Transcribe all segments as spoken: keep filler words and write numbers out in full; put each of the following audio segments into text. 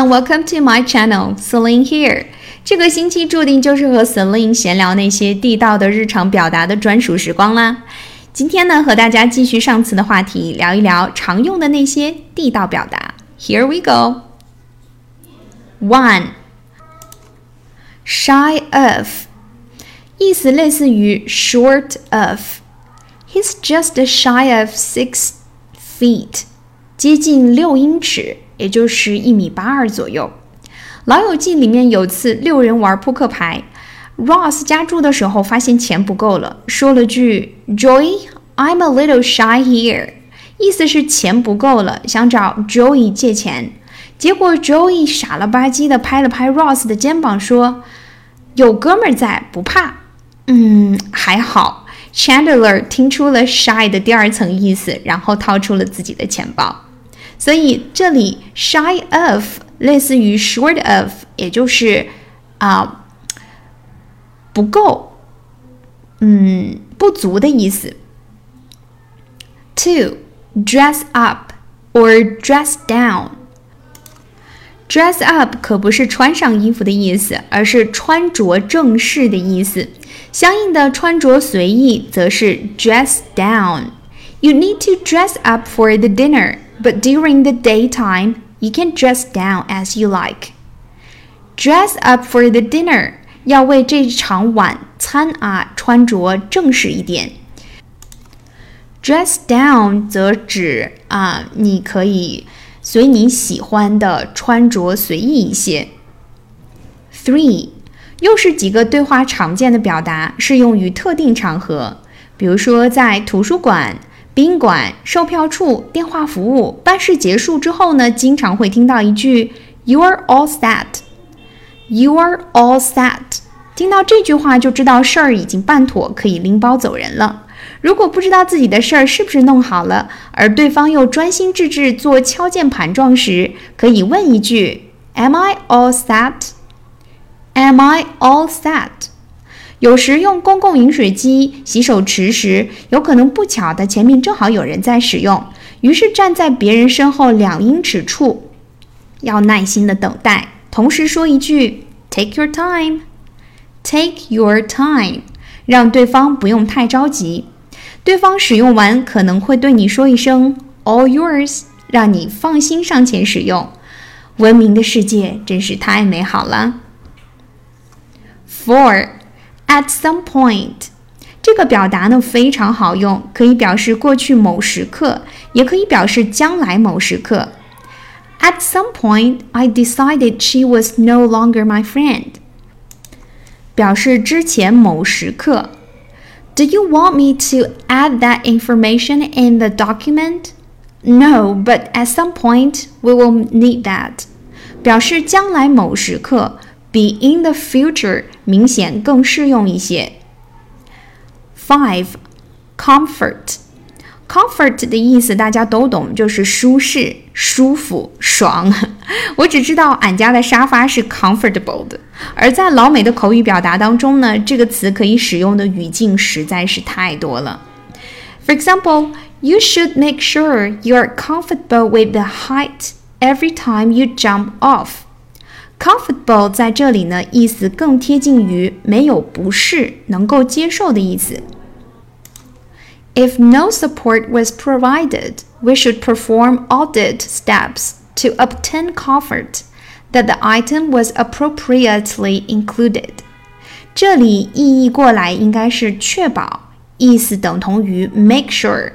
welcome to my channel, Celine here. 这个星期注定就是和 Celine 闲聊那些地道的日常表达的专属时光啦。今天呢，和大家继续上次的话题，聊一聊常用的那些地道表达。Here we go. One, shy of. 意思类似于 short of. He's just shy of six feet. 接近六英尺，也就是一米八二左右。老友记里面有次六人玩扑克牌 Ross 加注的时候发现钱不够了，说了句 Joey, I'm a little shy here. 意思是钱不够了，想找 Joey 借钱。结果 Joey 傻了吧唧的拍了拍 Ross 的肩膀说，有哥们儿在，不怕。嗯，还好。Chandler 听出了 shy 的第二层意思，然后掏出了自己的钱包。所以这里 shy of 类似于 short of， 也就是啊、呃、不够，嗯，不足的意思。Two, dress up or dress down. Dress up 可不是穿上衣服的意思，而是穿着正式的意思。相应的穿着随意则是 dress down. You need to dress up for the dinner, but during the daytime, you can dress down as you like. Dress up for the dinner 要为这场晚餐啊穿着正式一点。Dress down 则指啊你可以随你喜欢的穿着随意一些。Three, 又是几个对话常见的表达，适用于特定场合，比如说在图书馆、宾馆、售票处、电话服务，办事结束之后呢，经常会听到一句 You're all set. You're all set. 听到这句话就知道事儿已经办妥，可以拎包走人了。如果不知道自己的事儿是不是弄好了，而对方又专心致志做敲键盘状时，可以问一句 Am I all set? Am I all set? 有时用公共饮水机洗手池时，有可能不巧的前面正好有人在使用，于是站在别人身后两英尺处，要耐心的等待，同时说一句 Take your time. Take your time. 让对方不用太着急。对方使用完可能会对你说一声 All yours, 让你放心上前使用。文明的世界真是太美好了。Four, at some point. 这个表达呢非常好用，可以表示过去某时刻，也可以表示将来某时刻。At some point, I decided she was no longer my friend. 表示之前某时刻。Do you want me to add that information in the document? No, but at some point, we will need that. 表示将来某时刻，比 in the future 明显更适用一些。Five, comfort. Comfort 的意思大家都懂，就是舒适、舒服、爽。我只知道俺家的沙发是 comfortable 的，而在老美的口语表达当中呢，这个词可以使用的语境实在是太多了。For example, you should make sure you're comfortable with the height every time you jump off. Comfortable 在这里呢，意思更贴近于没有不适，能够接受的意思。If no support was provided, we should perform audit steps to obtain comfort that the item was appropriately included. 这里意译过来应该是确保，意思等同于 make sure.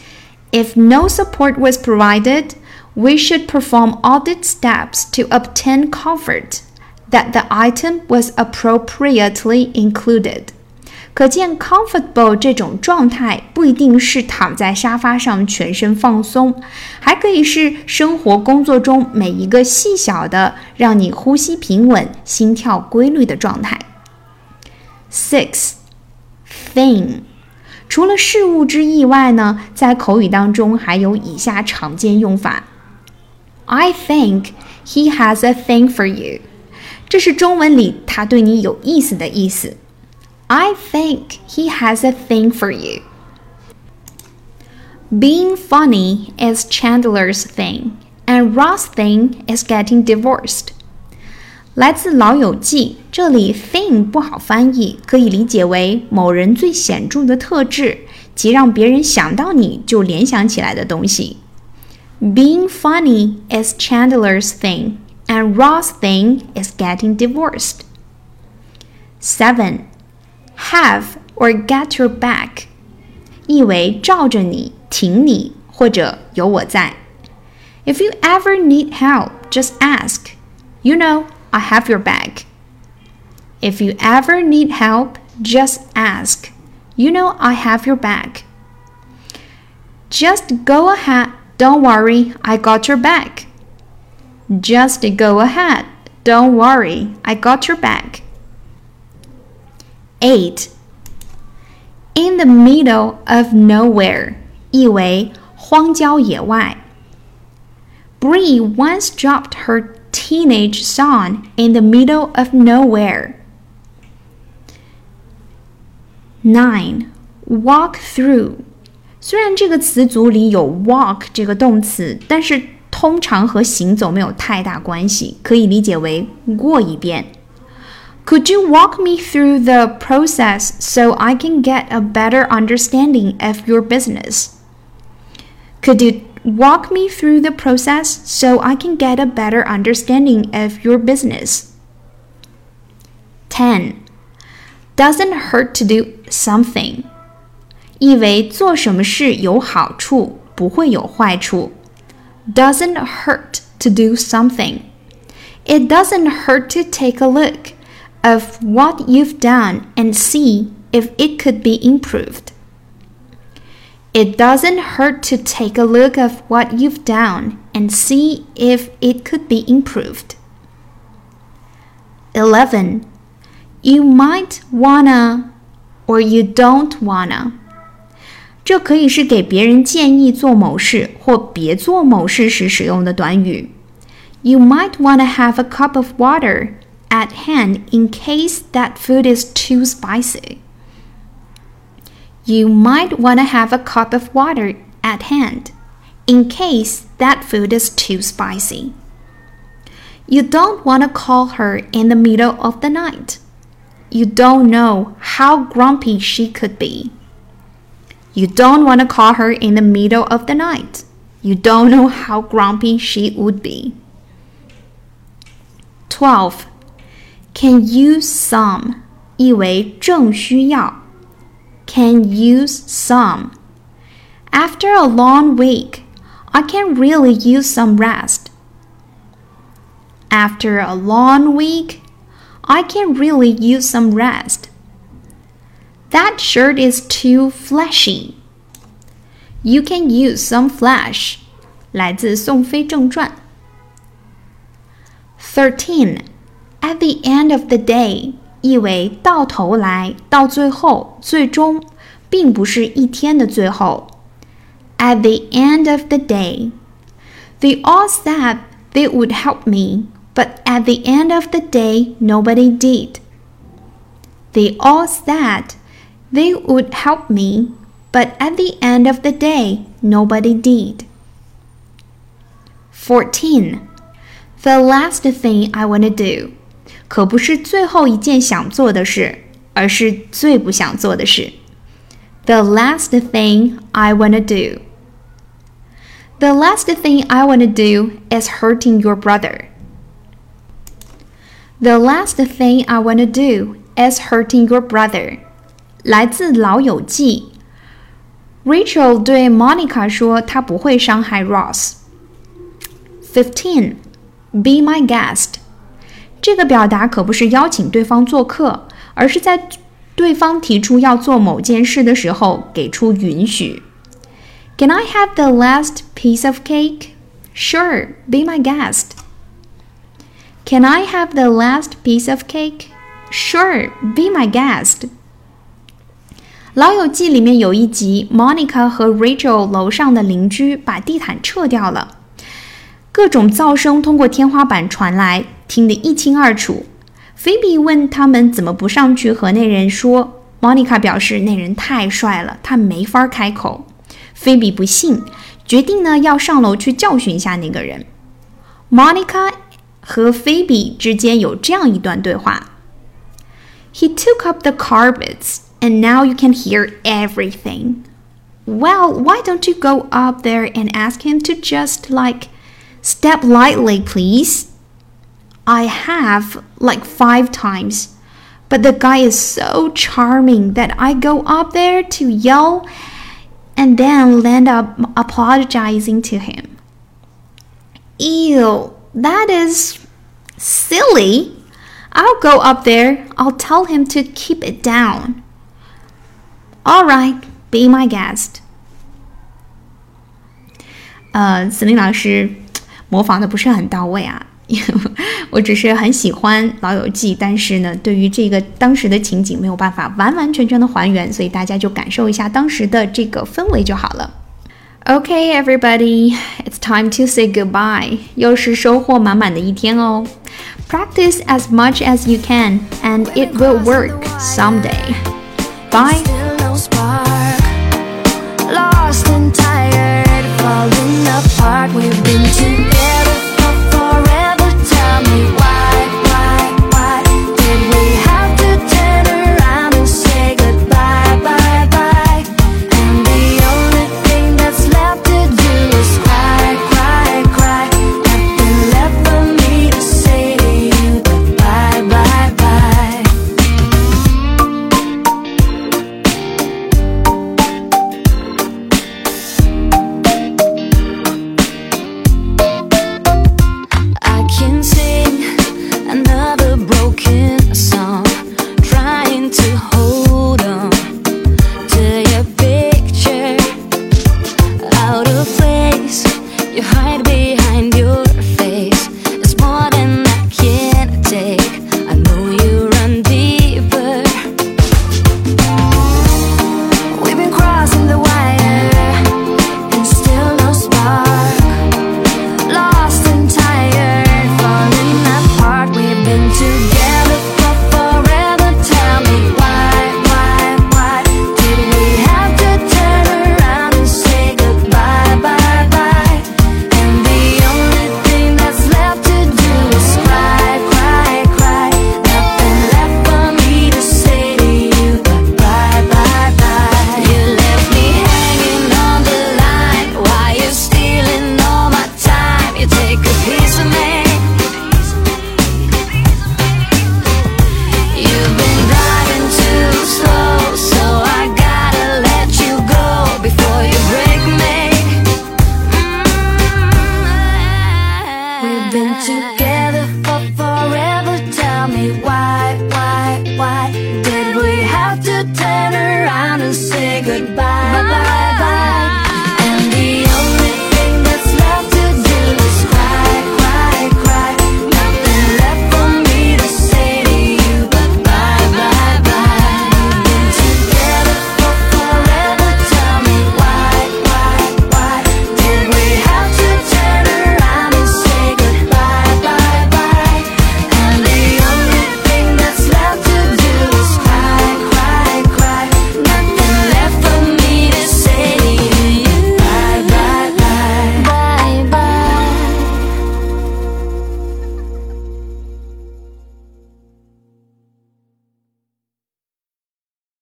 If no support was provided, we should perform audit steps to obtain comfort that the item was appropriately included. 可见 comfortable 这种状态不一定是躺在沙发上全身放松，还可以是生活工作中每一个细小的让你呼吸平稳、心跳规律的状态。Six, thing. 除了事物之意外呢，在口语当中还有以下常见用法。I think he has a thing for you. 这是中文里他对你有意思的意思。I think he has a thing for you. Being funny is Chandler's thing, and Ross thing is getting divorced. 来自老友记，这里 thing 不好翻译，可以理解为某人最显著的特质，即让别人想到你就联想起来的东西。Being funny is Chandler's thing, and Ross' thing is getting divorced. seven. Have or get your back. 意为罩着你，挺你，或者有我在。If you ever need help, just ask. You know, I have your back. If you ever need help, just ask. You know, I have your back. Just go ahead. Don't worry, I got your back. Just go ahead. Don't worry, I got your back. eight. In the middle of nowhere. 意为荒郊野外。Bree once dropped her teenage son in the middle of nowhere. nine. Walk through. 虽然这个词组里有 walk 这个动词，但是通常和行走没有太大关系，可以理解为过一遍。Could you walk me through the process so I can get a better understanding of your business? Could you walk me through the process so I can get a better understanding of your business? ten. Doesn't hurt to do something. 意为做什么事有好处，不会有坏处。Doesn't hurt to do something. It doesn't hurt to take a look of what you've done and see if it could be improved. It doesn't hurt to take a look of what you've done and see if it could be improved. eleven. You might wanna or you don't wanna. 这可以是给别人建议做某事或别做某事时使用的短语。You might wanna have a cup of water at hand in case that food is too spicy. You might want to have a cup of water at hand in case that food is too spicy. You don't want to call her in the middle of the night. You don't know how grumpy she could be. You don't want to call her in the middle of the night. You don't know how grumpy she would be. twelve. Can use some. 意为正需要。Can use some. After a long week, I can really use some rest. After a long week, I can really use some rest. That shirt is too fleshy. You can use some flesh. 来自《宋飞正传》。thirteen. At the end of the day. 意为到头来，到最后，最终，并不是一天的最后。At the end of the day. They all said they would help me, but at the end of the day, nobody did. They all said they would help me, but at the end of the day, nobody did. fourteen. The last thing I want to do. 可不是最后一件想做的事，而是最不想做的事。The last thing I want to do. The last thing I want to do is hurting your brother. The last thing I want to do is hurting your brother. 来自老友记。Rachel 对 Monica 说她不会伤害 Ross。fifteen. Be my guest. 这个表达可不是邀請对方做客，而是在对方提出要做某件事的时候给出允许。Can I have the last piece of cake? Sure, be my guest. Can I have the last piece of cake? Sure, be my guest. 老友记里面有一集 Monica 和 Rachel 楼上的邻居把地毯撤掉了，各种噪声通过天花板传来，听得一清二楚。菲比问他们怎么不上去和那人说， Monica 表示那人太帅了，他没法开口。菲比不信，决定呢要上楼去教训一下那个人。 Monica 和 Phoebe 之间有这样一段对话。He took up the carpets, and now you can hear everything. Well, why don't you go up there and ask him to just, like, step lightly, please? I have, like, five times, but the guy is so charming that I go up there to yell and then land up apologizing to him. Ew, that is silly. I'll go up there. I'll tell him to keep it down. All right, be my guest. 呃，子琳老师模仿的不是很到位啊。我只是很喜欢老友记，但是呢，对于这个当时的情景没有办法完完全全的还原，所以大家就感受一下当时的这个氛围就好了。Okay, everybody, it's time to say goodbye. 又是收获满满的一天哦。Practice as much as you can, and it will work someday. Bye.